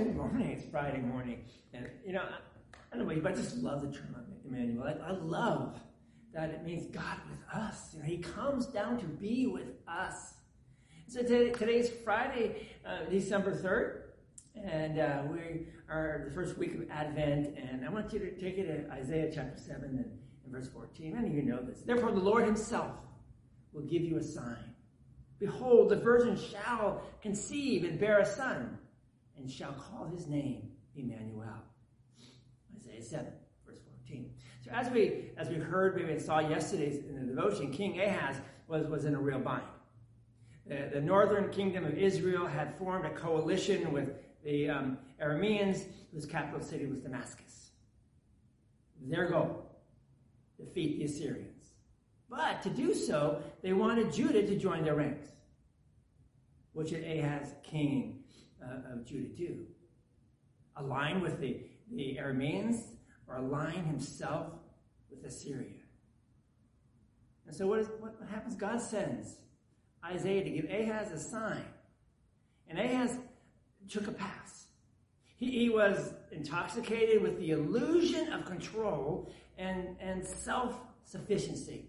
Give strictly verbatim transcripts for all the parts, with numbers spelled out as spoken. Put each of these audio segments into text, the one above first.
Good morning. It's Friday morning. And, you know, I, I don't know about you, but I just love the term Emmanuel. I, I love that it means God with us. You know, he comes down to be with us. So today, today's Friday, uh, December third, and uh, we are the first week of Advent, and I want you to take it to Isaiah chapter seven and, and verse fourteen. Many of you know this. Therefore, the Lord himself will give you a sign. Behold, the virgin shall conceive and bear a son, and shall call his name Emmanuel. Isaiah seven, verse fourteen. So as we as we heard, maybe saw yesterday's in the devotion, King Ahaz was, was in a real bind. The, the northern kingdom of Israel had formed a coalition with the um, Arameans, whose capital city was Damascus. Their goal, defeat the Assyrians. But to do so, they wanted Judah to join their ranks. What should Ahaz, king uh, of Judah, do? Align with the, the Arameans or align himself with Assyria? And so what, is, what happens? God sends Isaiah to give Ahaz a sign. And Ahaz took a pass. He, he was intoxicated with the illusion of control and, and self-sufficiency.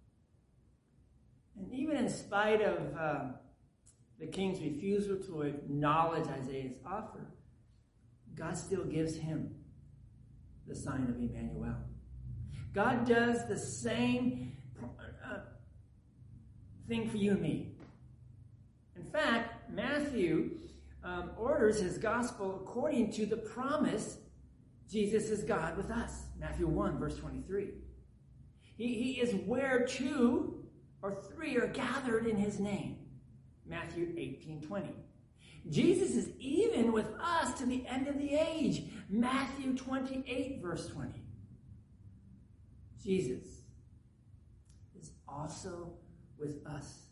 And even in spite of uh, the king's refusal to acknowledge Isaiah's offer, God still gives him the sign of Emmanuel. God does the same uh, thing for you and me. In fact, Matthew um, orders his gospel according to the promise Jesus is God with us. Matthew one, verse twenty-three. He, he is where two or three are gathered in his name. Matthew eighteen, twenty. Jesus is even with us to the end of the age. Matthew twenty-eight, verse twenty. Jesus is also with us,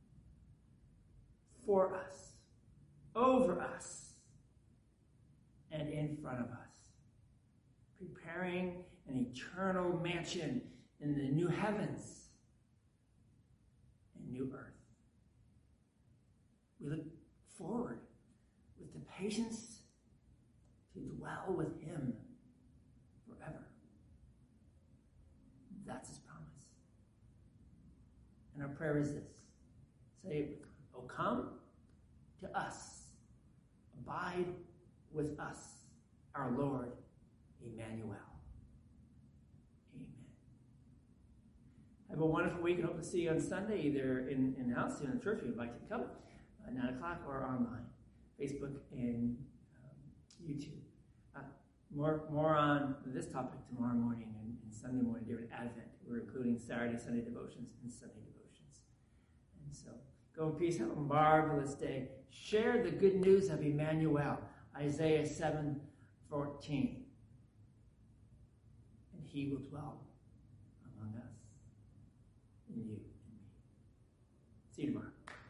for us, over us, and in front of us, preparing an eternal mansion in the new heavens and new earth. We look forward with the patience to dwell with him forever. That's his promise. And our prayer is this. Say it with me. Oh, come to us. Abide with us, our Lord, Emmanuel. Amen. Have a wonderful week and hope to see you on Sunday, either in, in the house, here in the church. We invite you to come. At nine o'clock or online, Facebook and um, YouTube. Uh, more more on this topic tomorrow morning and, and Sunday morning during Advent. We're including Saturday, Sunday devotions, and Sunday devotions. And so, go in peace. Have a marvelous day. Share the good news of Emmanuel, Isaiah seven fourteen. And he will dwell among us, in you and me. See you tomorrow.